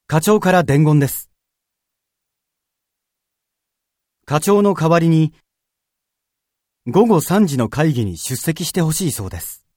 課長から伝言です。課長の代わりに午後3時の会議に出席してほしいそうです。